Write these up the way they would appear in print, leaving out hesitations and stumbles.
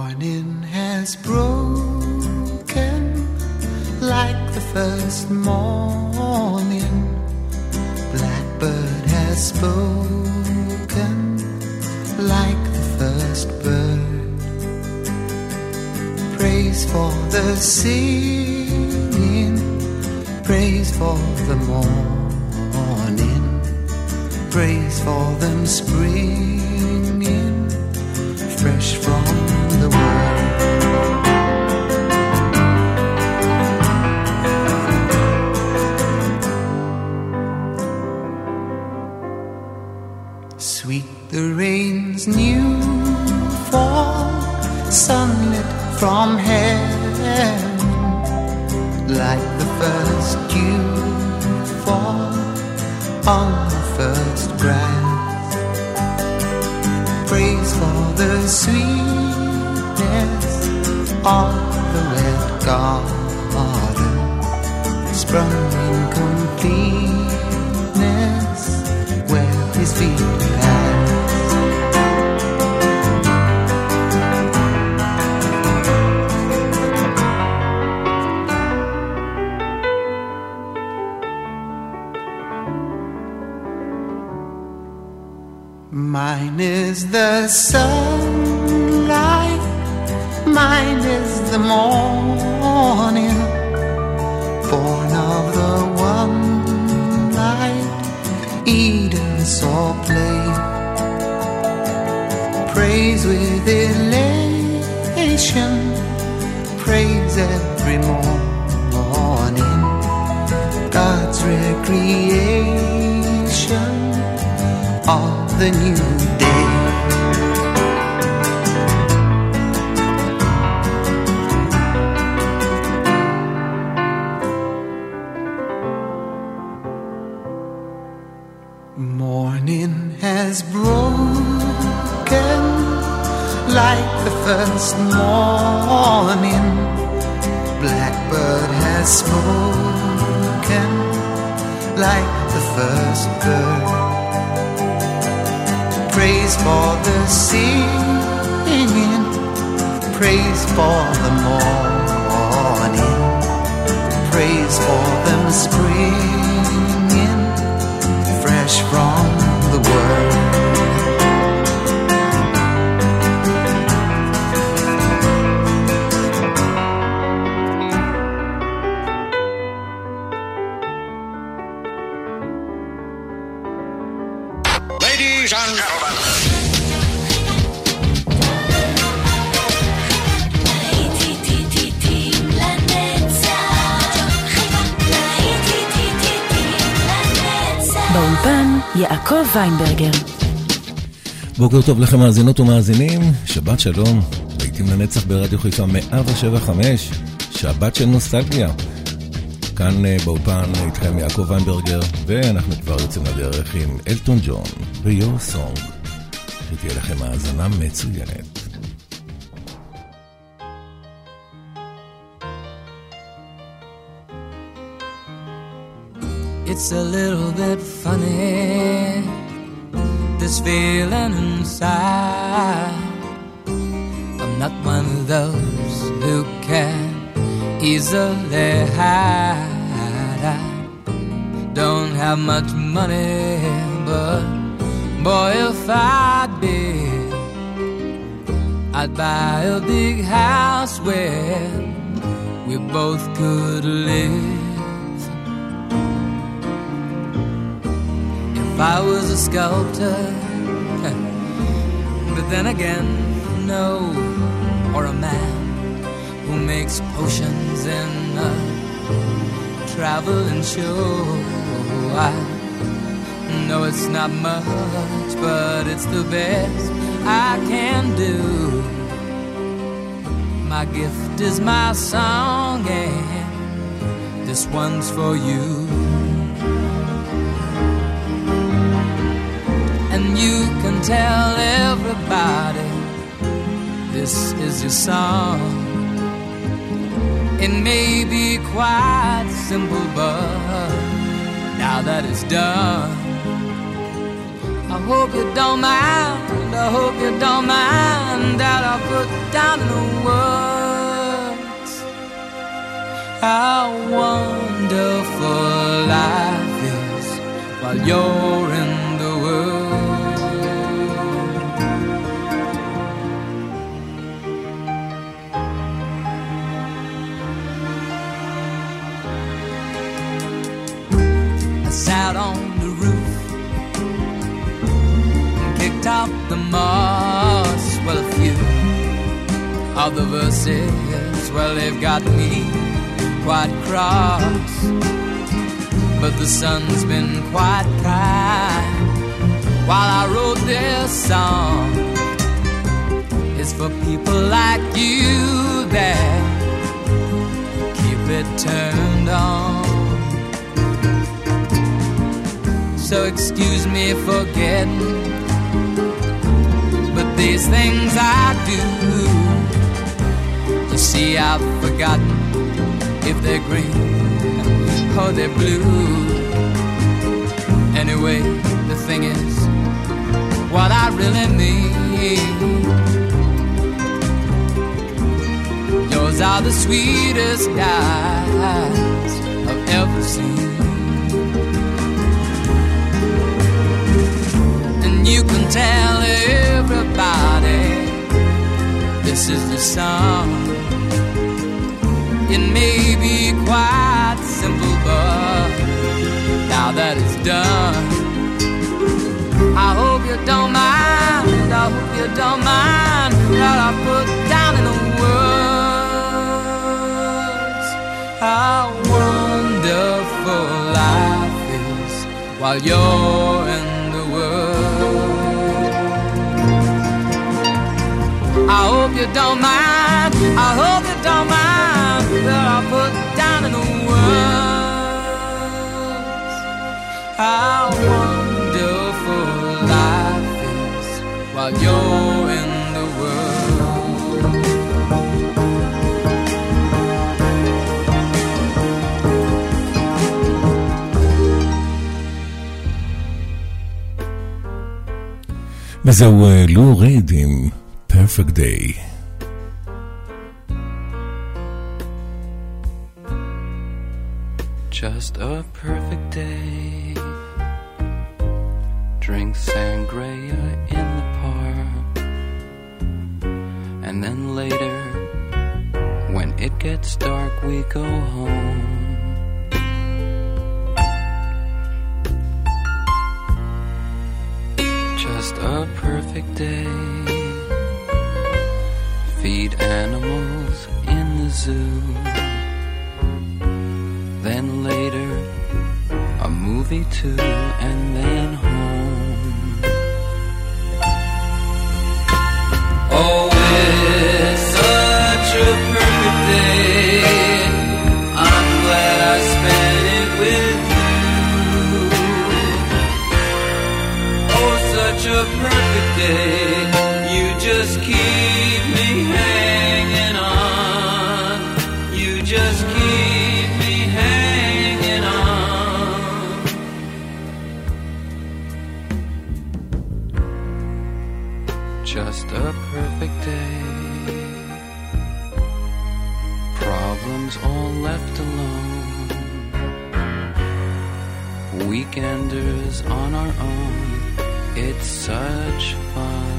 Morning has broken like the first morning. Blackbird has spoken like the first bird. Praise for the singing, praise for the morning, praise for them springing fresh from the world. Sweet the rain's new fall, sunlit from heaven, like the first dew fall on the first grass. Praise for the sweetness of the red garden, sprung in completeness where his feet pass. Mine is the sunlight, mine is the morning, born of the one light, Eden saw play. Praise with elation, praise every morning, God's recreation of the new day. Morning has broken like the first morning. Blackbird has spoken like the first bird. Praise for the singing, praise for the morning, praise for them springing fresh from the world. Ladies and gentlemen, באולפן יעקב ויינברגר. בוקר טוב לכם מאזינות ומאזינים, שבת שלום, לעיתים לנצח ברדיו חיפה 107.5, שבת של נוסטלגיה. כאן באולפן איתכם יעקב ויינברגר, ואנחנו כבר יוצאים לדרך עם אלטון ג'ון ו-Your Song. שתהיה לכם האזנה מצוינת. It's a little bit funny, this feeling inside. I'm not one of those who can easily hide. I don't have much money, but boy, if I'd be, I'd buy a big house where we both could live. If I was a sculptor, but then again, no, or a man who makes potions in a traveling show. I know it's not much, but it's the best I can do. My gift is my song, and this one's for you. And you can tell everybody this is your song. It may be quite simple, but now that it's done, I hope you don't mind, I hope you don't mind that I put down in the words how wonderful life is while you're in the world. I sat on the roof and kicked out the moss. Well, a few of the verses, well, they've got me quite cross, but the sun's been quite kind while I wrote this song. It's for people like you that keep it turned on. So excuse me for getting, but these things I do, you see, I've forgotten if they're green or they're blue. Anyway, the thing is, what I really mean, yours are the sweetest eyes I've ever seen. And you can tell everybody this is the song. It may be quite simple, but now that it's done, I hope you don't mind, I hope you don't mind that I put down in the words how wonderful life is while you're in the world. I hope you don't mind, I hope you don't mind that I put down in the words how wonderful life is while you're in the world. וזהו לו ריד עם Perfect Day. Just a perfect day. Drink sangria in the park, and then later, when it gets dark, we go home. Just a perfect day. Feed animals in the zoo. Then later, a movie too, and then home. Oh, it's such a perfect day. I'm glad I spent it with you. Oh, such a perfect day. You just keep me hanging on. You just keep me hanging on. Just a perfect day. Problems all left alone. Weekenders on our own. It's such fun.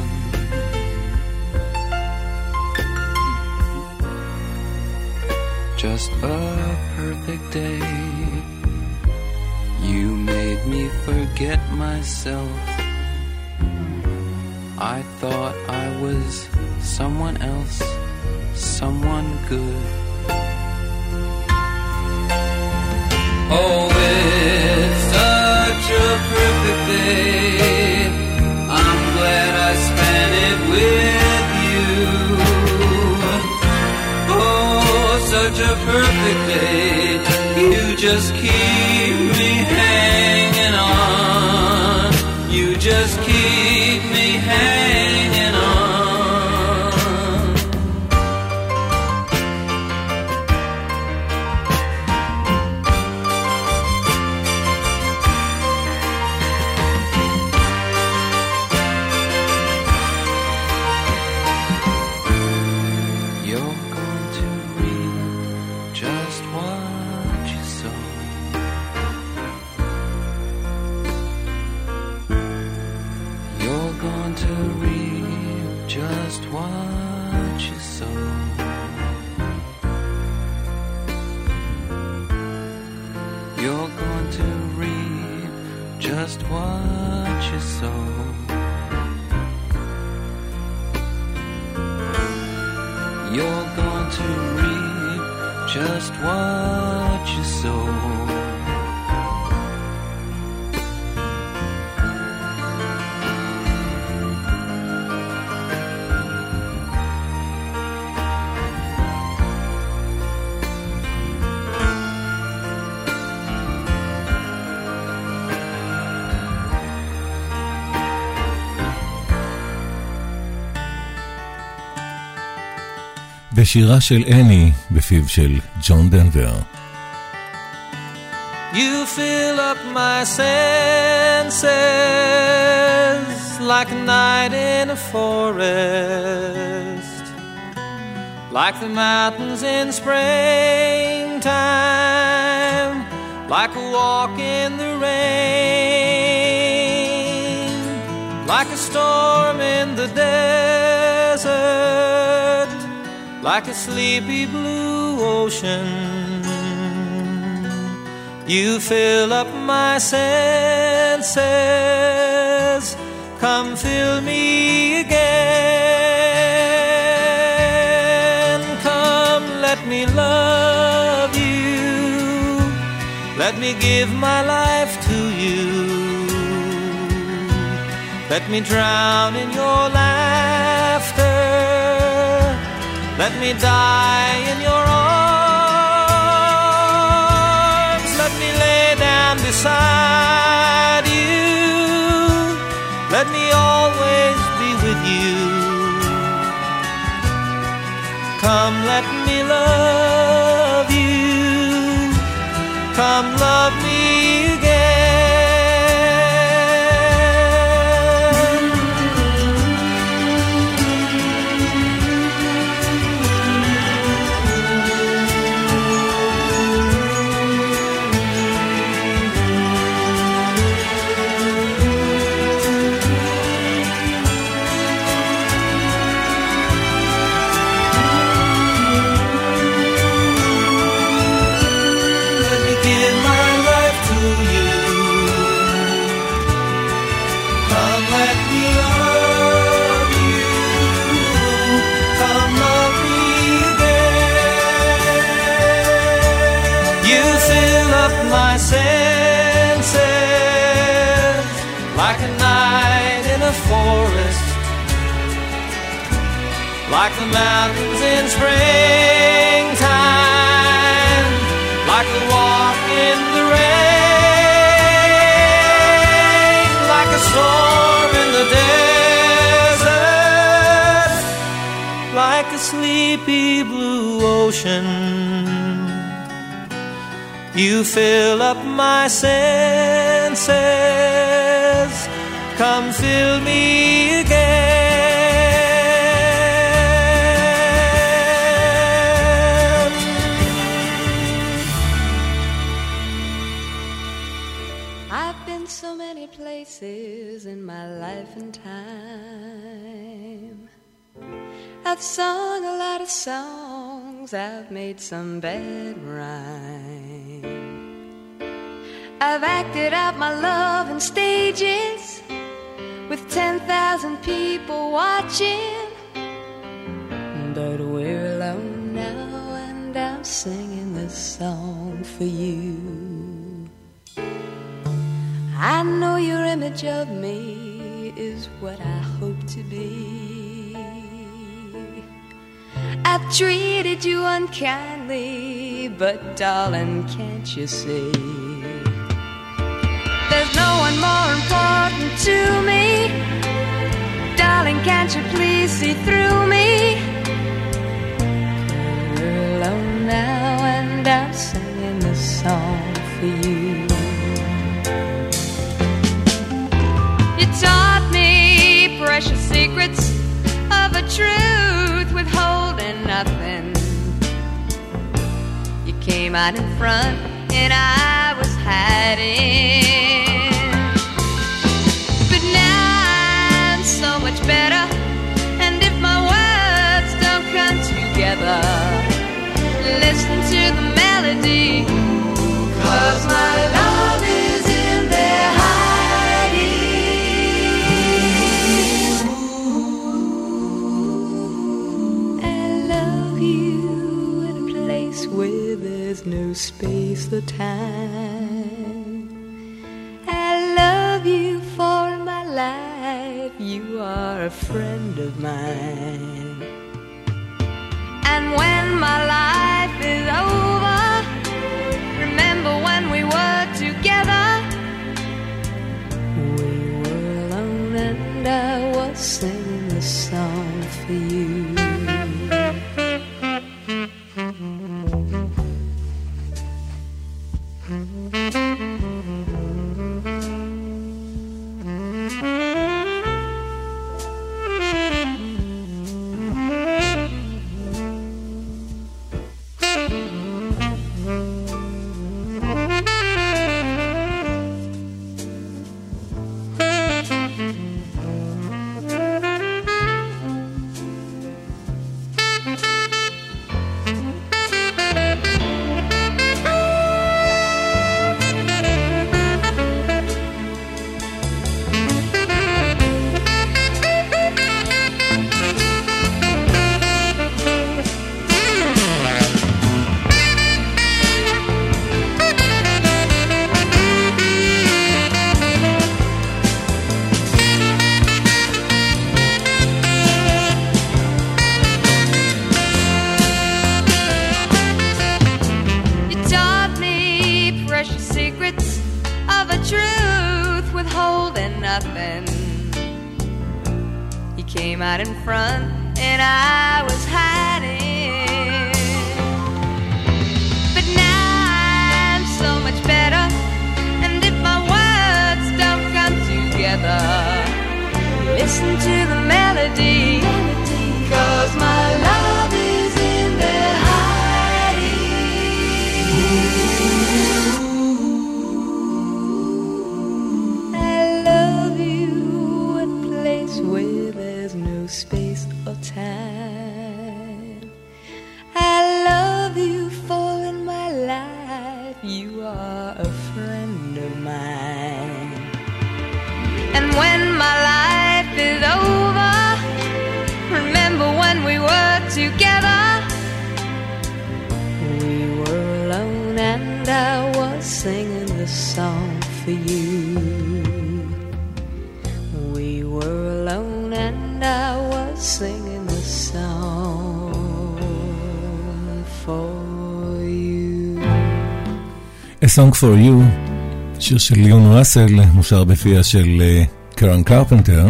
Just a perfect day. You made me forget myself. I thought I was someone else, someone good. Oh, it's such a perfect day. I'm glad I spent it with you. Oh, such a perfect day. You just keep me hanging on. You just keep me hanging on. just what you sow. You're going to reap just what you sow. ושירה של אני בפיו של ג'ון דנבר. You fill up my senses like a night in a forest, like the mountains in springtime, like a walk in the rain, like a storm in the desert, like a sleepy blue ocean. You fill up my senses, come fill me again. Come, let me love you, let me give my life to you, let me drown in your laughter, let me die in your arms, let me lay down beside you, let me always be with you. Come, let me love you, come love me again. My senses like a night in a forest, like the mountains in springtime, like a walk in the rain, like a storm in the desert, like a sleepy blue ocean. You fill up my senses, come fill me again. I've been so many places in my life and time. I've sung a lot of songs, I've made some bad rhymes. I've acted out my love in stages with 10,000 people watching. But we're alone now and I'm singing this song for you. I know your image of me is what I hope to be. I've treated you unkindly, but darling, can't you see? There's no one more important to me. Darling, can't you please see through me? We're alone now and I'm singing this song for you. You taught me precious secrets of a truth withholding nothing. You came out in front and I was hiding. But now I'm so much better, and if my words don't come together, listen to the melody, 'cause my love is in there hiding. you in a place where there's no space or time. I love you for my life, you are a friend of mine. And when my life is over, remember when we were together. We were alone and I was singing the song for you. Song for You, שיר של ליאון ראסל, מושר בפיה של קרן קרפנטר,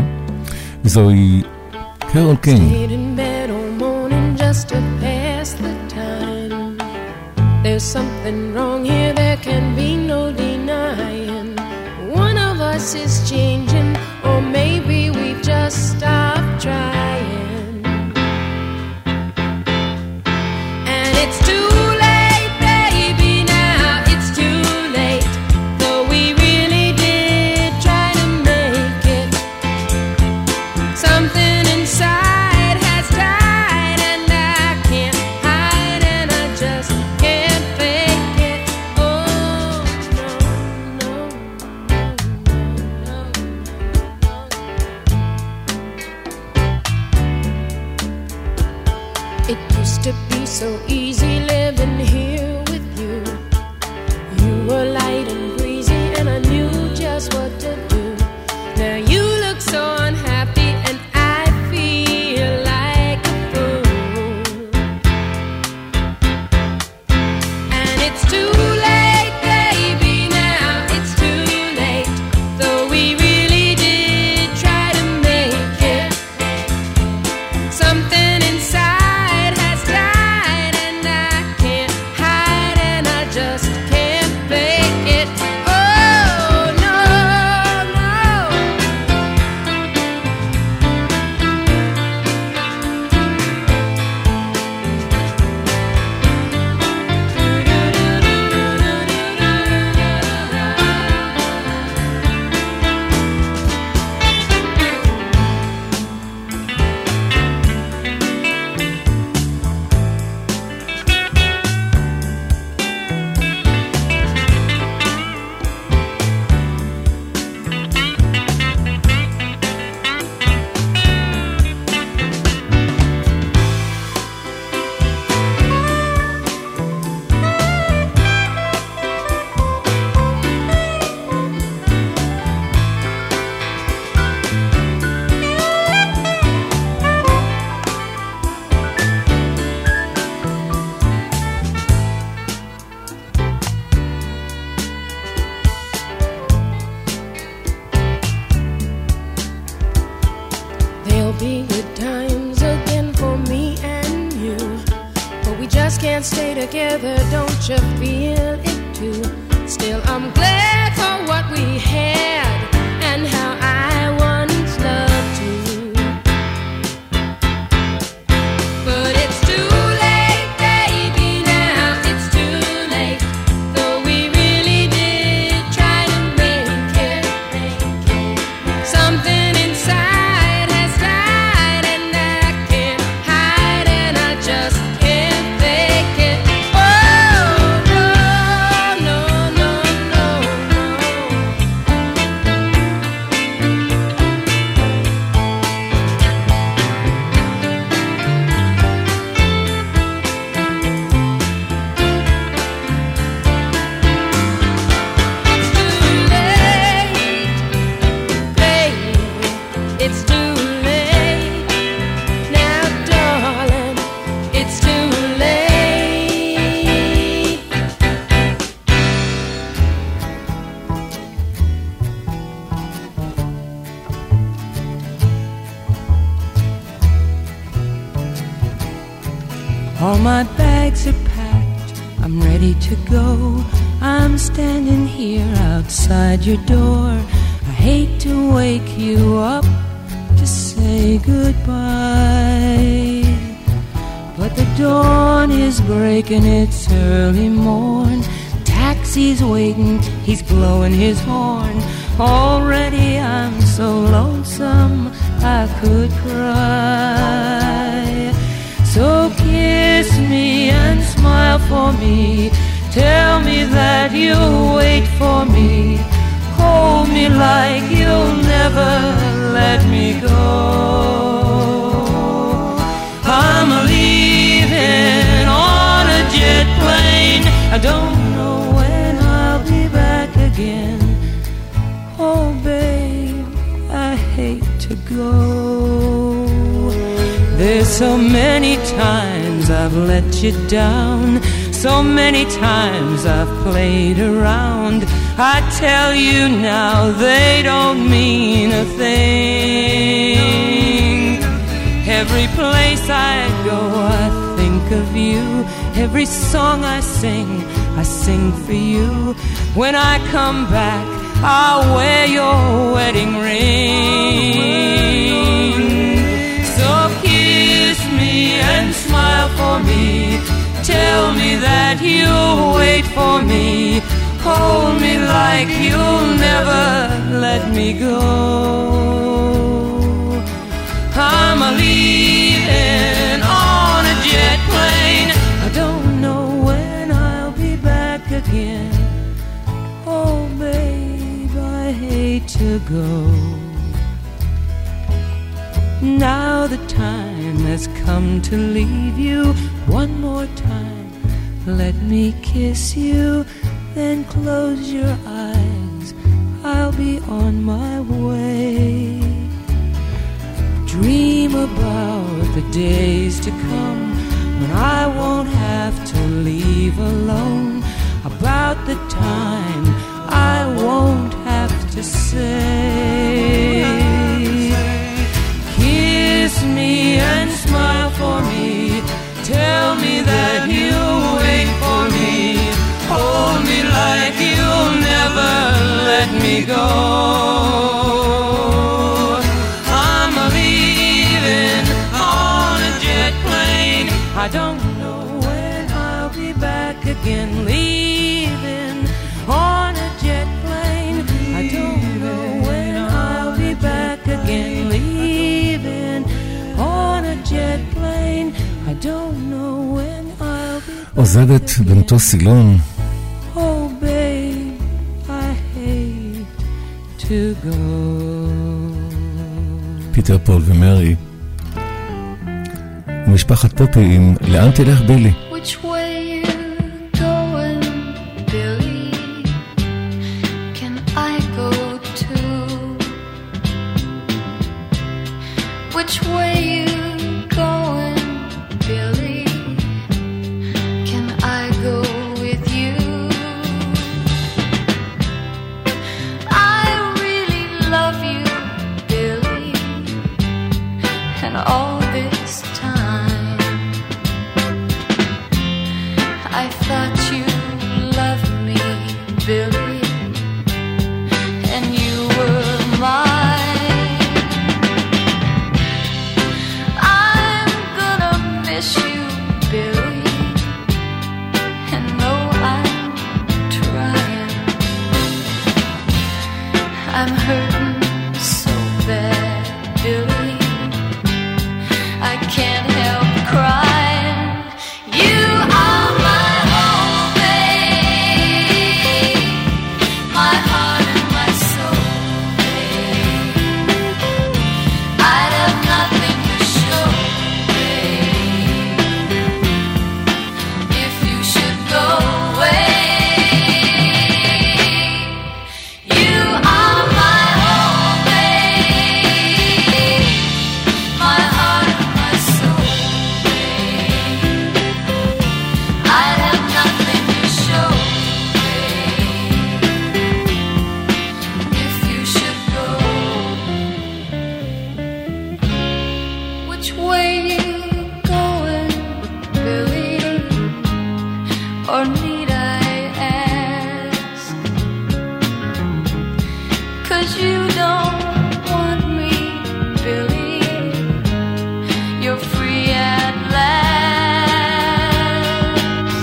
זוהי קרול קינג. There's something wrong here, there can be no denying. One of us is changing, or maybe we've just stopped trying. And it's too so easy living here with you. You were light and breezy and I knew just what to do. Now you look so unhappy and I feel like a fool. And it's too late, baby, now it's too late. Though we really did try to make it. Something inside just can't fake it. can't stay together, don't you feel it too? Still, I'm glad for what we had and how I once loved you. But it's too late, baby, now it's too late. Though we really did try to make it. Something inside has died and I can't hide and I just can't fake it. Oh, no, no, no, no, no. It's too late, now darling, it's too late. All my bags are packed, I'm ready to go. I'm standing here outside your door. I hate to wake you up to say goodbye, but the dawn is breaking, it's early morn. Taxi's waiting, he's blowing his horn. Already I'm so lonesome I could cry. So kiss me and smile for me, tell me that you'll wait for me. Hold me like you'll never let me go. I'm leaving on a jet plane. I don't know when I'll be back again. Oh, babe, I hate to go. There's so many times I've let you down, so many times I've played around. I tell you now, they don't mean a thing. Every place I go, I think of you. Every song I sing for you. When I come back, I'll wear your wedding ring. So kiss me and smile for me, tell me that you'll wait for me. Hold me like you'll never let me go. I'm leaving on a jet plane. I don't know when I'll be back again. Oh, babe, I hate to go. Now the time has come to leave you. One more time, let me kiss you. Then close your eyes, I'll be on my way. Dream about the days to come when I won't have to leave alone. About the time I won't have to say. Kiss me and smile for me, tell me that you'll wait for me. Hold me like you'll never let me go. I'm leaving on a jet plane. I don't know when I'll be back again. Leaving on a jet plane. I don't know when I'll be back again. Leaving on a jet plane. I don't know when I'll be back. עוזבת במטוס סילון. Oh, babe, I hate to go. פיטר פול ומרי ומשפחת פופי עם לאן תלך בילי. Which way you going, Billy? Can I go too? Which way you going, Billy? Can I go with you? I really love you, Billy, and all this time or need I ask? 'Cause you don't want me, Billy. You're free at last.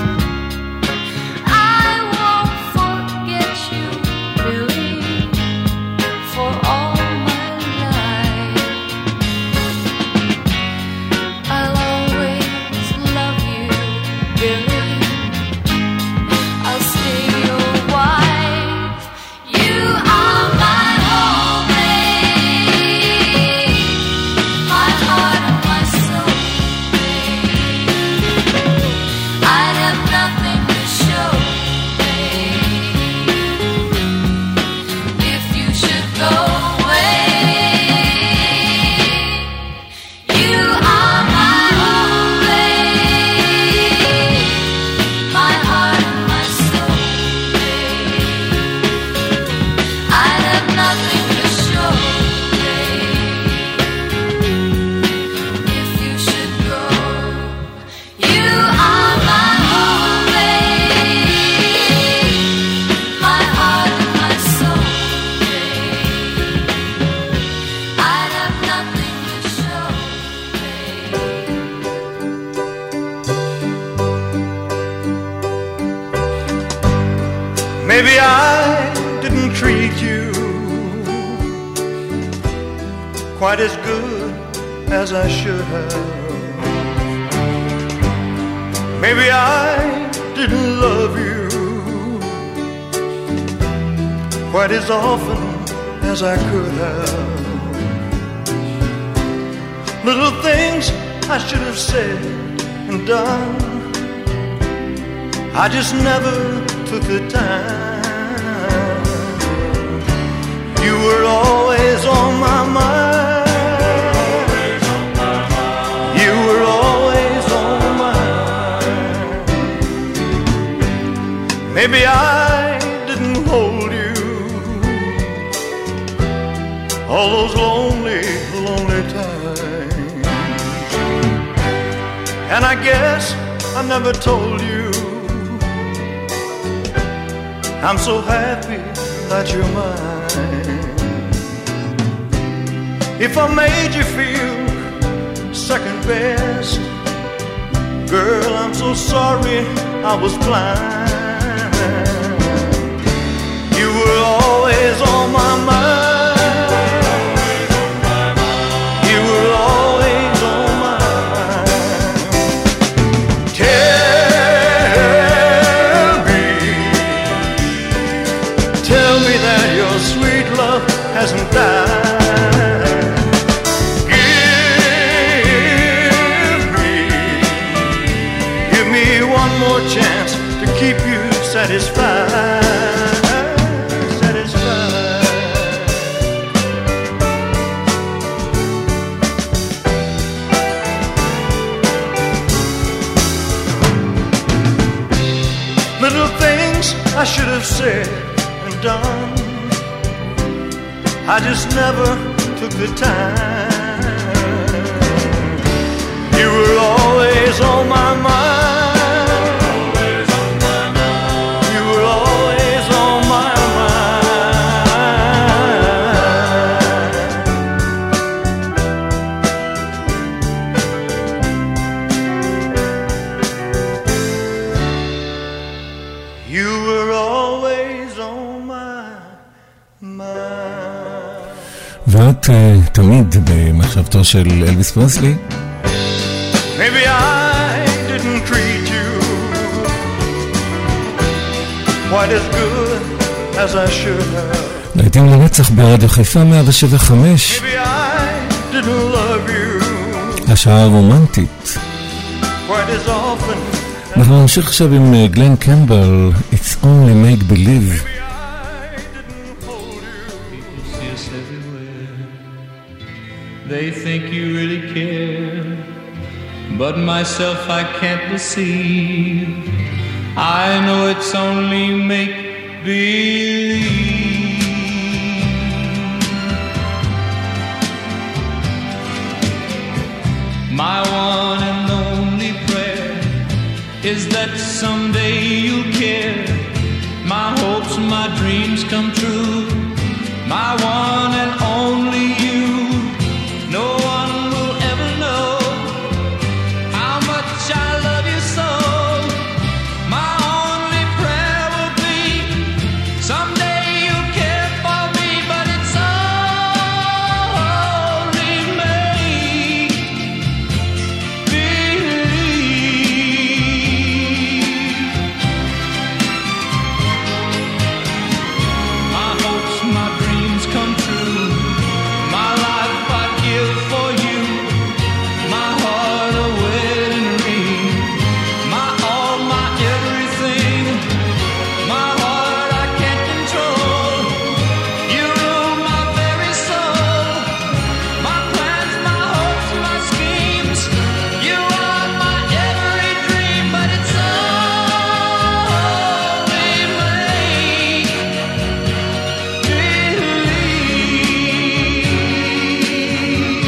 I won't forget you, Billy, for all my life. I'll always love you, Billy. I'll stay your wife. You are my whole babe, my heart and my soul, babe. I'd have nothing to show, babe, if you should go away. You are my whole babe, my heart and my soul, babe. I'd have nothing to show, babe, if you should go. You are my whole babe, my heart and my soul, babe. I'd have nothing to show, Maybe I didn't treat you quite as good as I should have. Maybe I didn't love you quite as often as I could have. Little things I should have said and done, I just never took the time. You were always on my mind. You were always on my mind. Maybe I didn't hold you all those lonely, lonely times. And I guess I never told you I'm so happy that you're mine. If I made you feel second best, girl, I'm so sorry I was blind. You were always on my mind. You were always on my mind. Tell me that your sweet love hasn't died. Give me one more chance to keep you satisfied. Satisfied. Little things I should have said and done, I just never took the time. You were always on my mind. You were always on my mind. You were always on my mind. ואת תמיד במחשבתו של אלוויס פרסלי. Maybe I didn't treat you quite as good as I should have. להיטים לנצח ברדיו חיפה 107.5. Maybe I didn't love you השעה הרומנטית. quite as often. אנחנו נמשיך עכשיו עם גלן קמבל, It's Only Make Believe. They think you really care, but myself I can't deceive. I know it's only make-believe. My one and only prayer is that someday you'll care. My hopes, my dreams come true. My one and only you. No one will ever know how much I love you so. My only prayer will be someday you'll care for me, but it's only make believe. My hopes, my dreams come true. My life I'd give for you. My heart a wedding ring. My all, my everything. My heart I can't control. You rule my very soul. My plans, my hopes, my schemes. You are my every dream, but it's only make believe.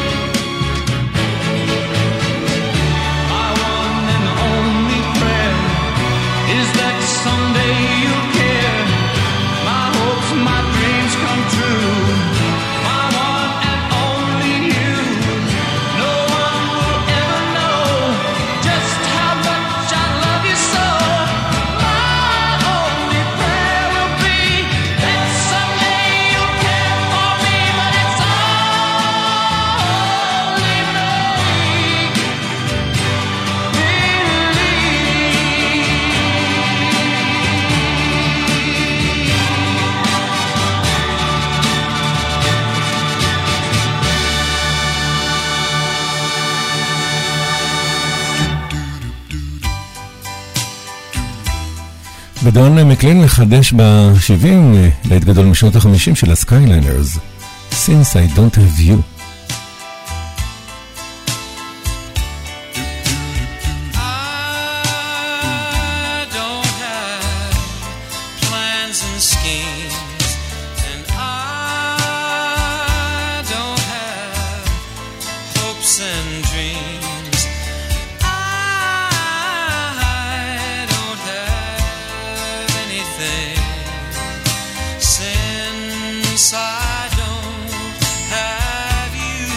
My one and only prayer is that someday you'll care. My hopes, my dreams come true. My one and only you. No one will ever know just how much I love you so. My only prayer will be that someday you'll care for me, but it's only make ודון מקלין מחדש ב-70 להיט גדול משנות ה-50 של הסקייליינרס, Since I Don't Have You. I don't have plans and schemes, and I don't have hopes and dreams. I don't have anything since I don't have you.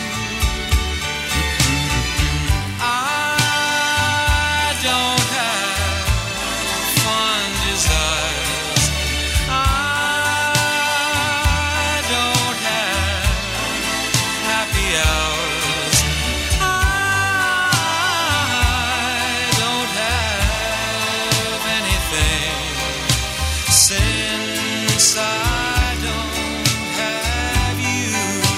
I don't have fond desires. I don't have happy hours. I don't have anything since I don't have you.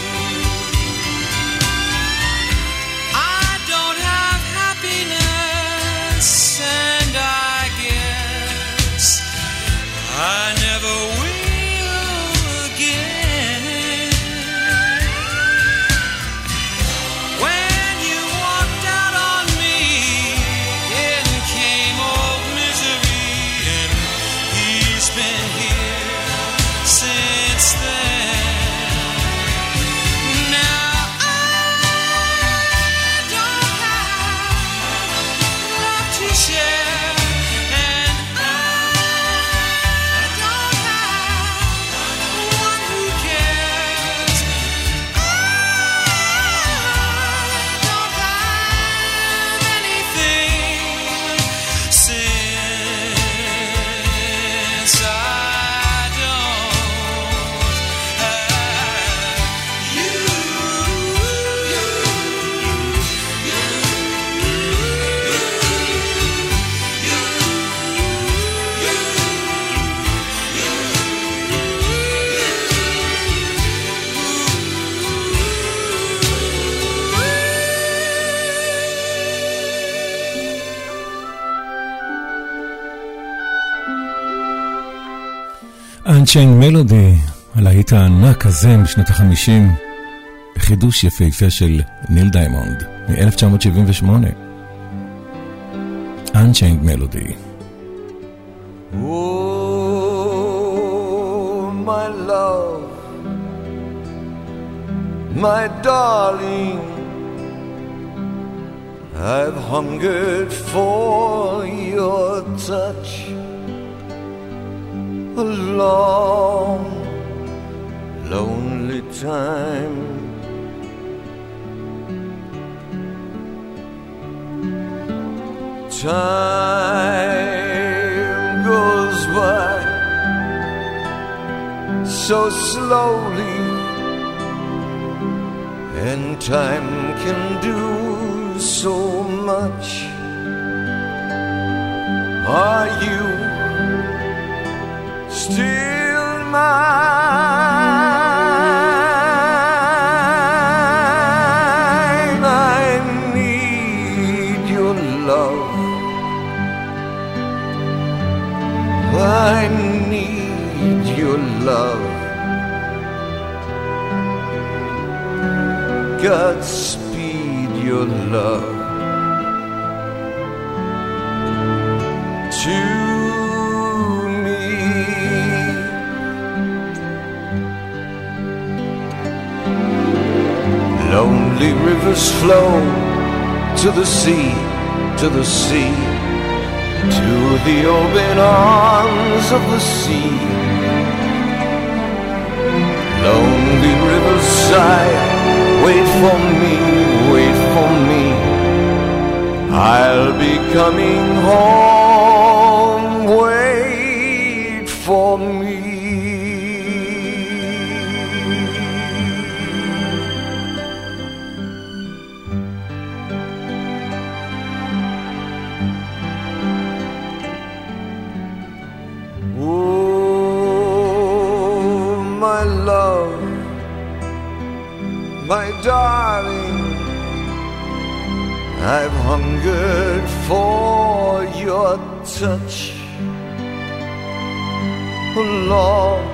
I don't have happiness, and I guess I never will again. When you walked out on me, in came old misery, and he's been here since then. Now I don't have love to share, and I don't have one who cares. I don't have anything since I don't have you. Unchained Melody, הלהיט הענק הזה משנות ה-50, חידוש יפהפה של ניל דיימונד מ-1978. Unchained Melody. Oh, my love, my darling, I've hungered for such a long, lonely time. Time goes by so slowly, and time can do so much. Are you still mine? I need your love. I need your love. Godspeed your love to me. Lonely rivers flow to the sea, to the sea, to the open arms of the sea. Lonely rivers sigh, wait for me, wait for me. I'll be coming home, wait for me. My darling, I've hungered for your touch a long,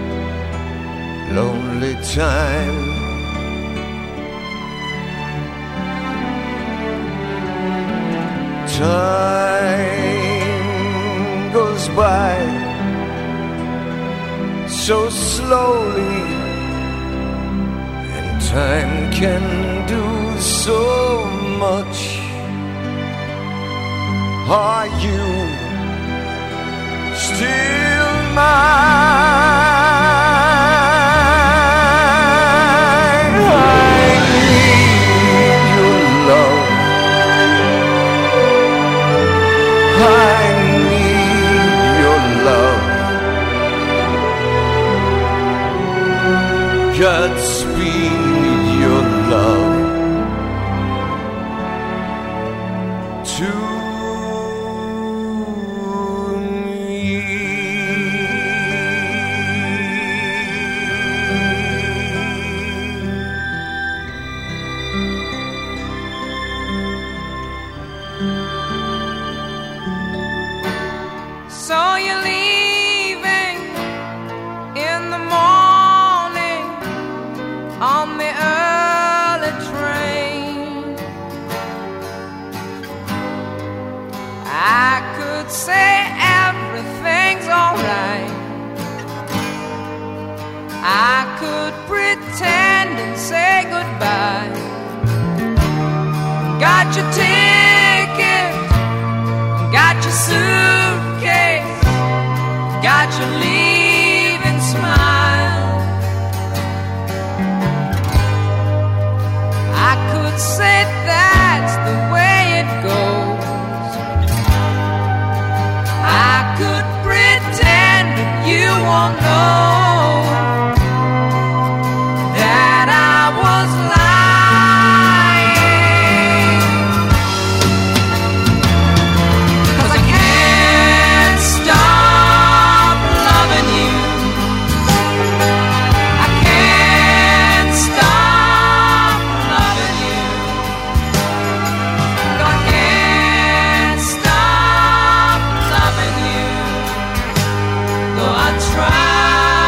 lonely time. Time goes by so slowly, time can do so much. Are you still mine? I need your love. I need your love. Godspeed your love to So you're leaving in the morning on the early train. I could say everything's alright. I could pretend and say goodbye. Got your ticket, got your suitcase, got your leaving smile. I could say that's the way it goes. I could pretend that you won't know that I was lying. 'Cause I can't stop loving you. I can't stop loving you. No, I can't stop loving you. Though I try.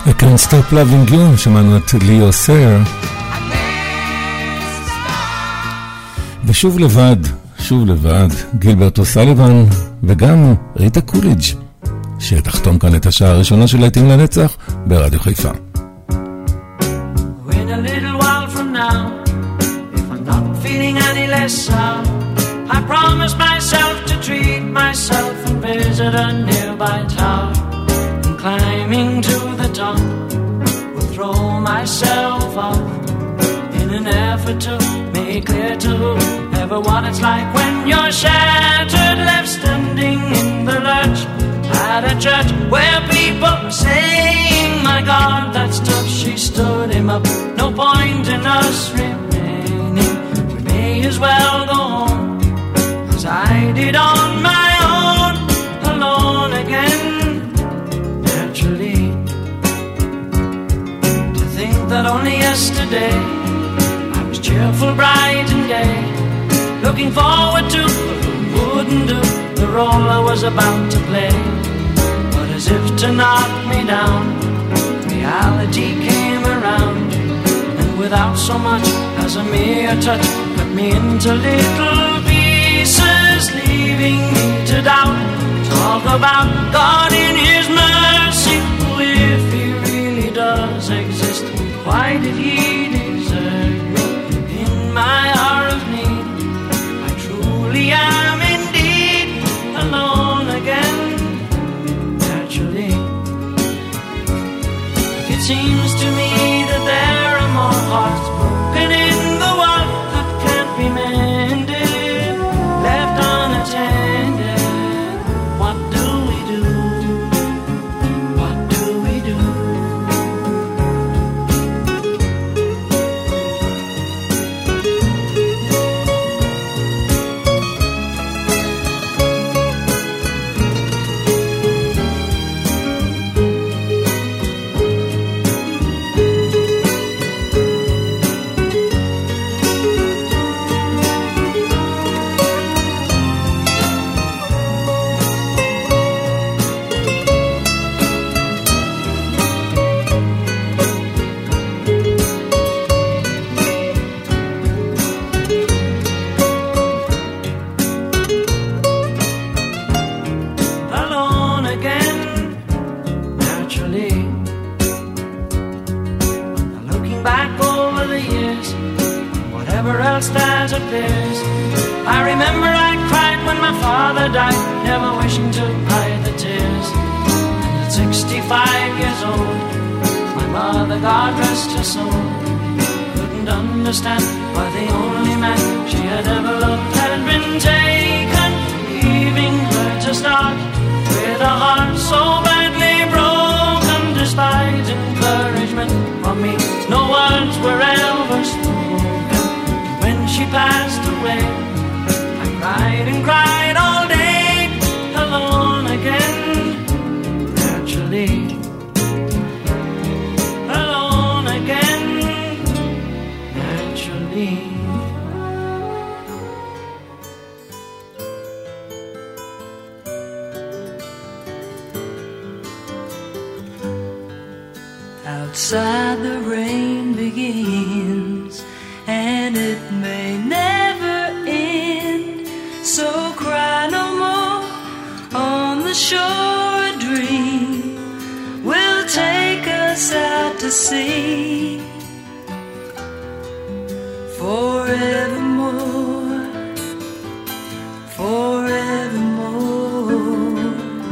I Can't Stop Loving You, שמענו את ליאו סר. ושוב לבד, גילברט אוסליבן וגם ריטה קוליג' שתחתום כאן את השעה הראשונה של להיטים לנצח ברדיו חיפה. When a little while from now, if I'm not feeling any less sound, I promise myself to treat myself and visit a nearby town. And climbing to the top, will throw myself off in an effort to make clear to whoever what it's like when you're shattered, left standing in the lurch at a church where people are saying, my God, that's tough. She stood him up. No point in us remaining. We may as well go home, as I did on my own, alone again. Naturally, to think that only yesterday I was cheerful, bright and gay, looking forward to who wouldn't do the role I was about to play. But as if to knock me down, reality came around, and without so much as a mere touch, cut me into little pieces, leaving me to doubt. Talk about God in His mercy, if He really does exist, why did He desert me in my hour of need? I truly am indeed alone again. Naturally, it seems to me that there are more hearts broken in the world that can't be mended, left unattended. What do we do? What do we do? Alone again, naturally. Now looking back over the years, whatever else that appears, I remember I cried when my father died, never wishing to hide the tears. And at 65 years old, my mother, God rest her soul, couldn't understand why the only man she had ever loved had been taken, leaving her to start with a heart so badly broken. Despite encouragement from me, no words were ever spoken. When she passed away, I cried and cried all day, alone again. Naturally, alone again. Naturally. Outside the rain begins, and it may never end. So cry no more. On the shore a dream will take us out to sea. Forevermore, forevermore.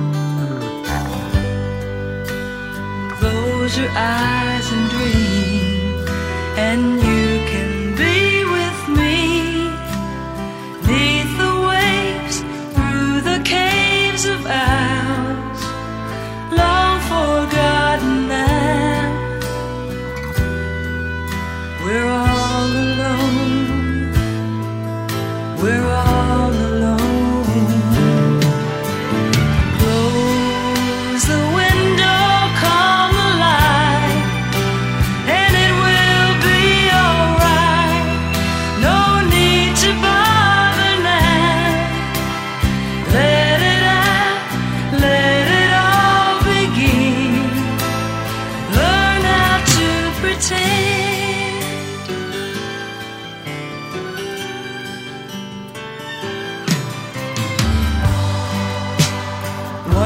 Close your eyes and dream, and you can be with me. Neath the waves, through the caves of ours, long forgotten now. We're all alone. We're all alone. Close the window, calm the light,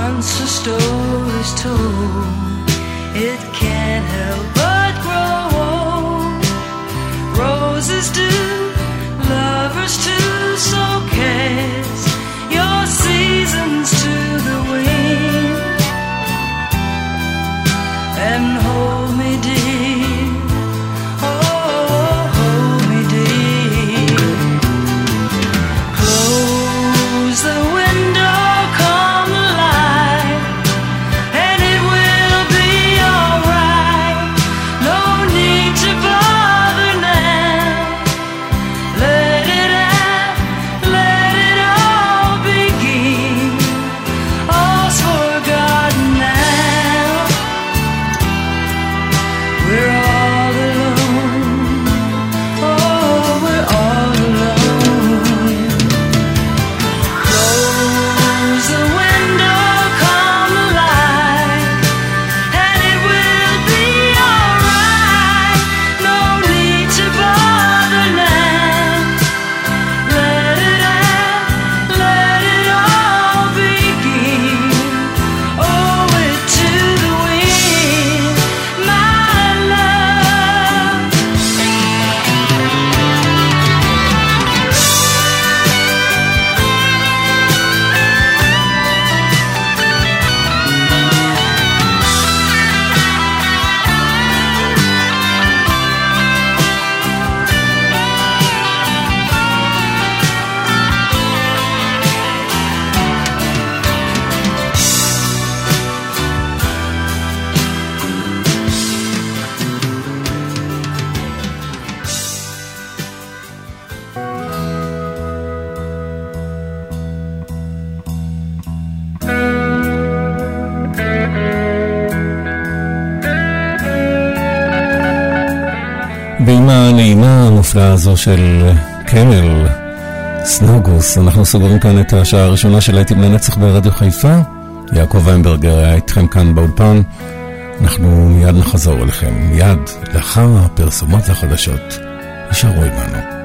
once a story's told, it can't help but grow old. Roses do, lovers too, so cast your seasons to the wind and hold me dear, oh hold me dear. Close the window, come alive, and it will be alright. No need to bother now. Let it all begin. All's forgotten now. We're all alone. Oh, we're all alone. Close the window, come alive, and it will be alright. No need to bother now. Let it all begin. Owe it to the wind, my love. ועם הנעימה המופלאה הזו של קמל סנוגוס, אנחנו סוגרים כאן את השעה הראשונה של להיטים לנצח ברדיו חיפה. יעקב ויינברגר היה איתכם כאן באולפן. אנחנו מיד נחזור אליכם, מיד לאחר הפרסומות החדשות. נשארו עמנו.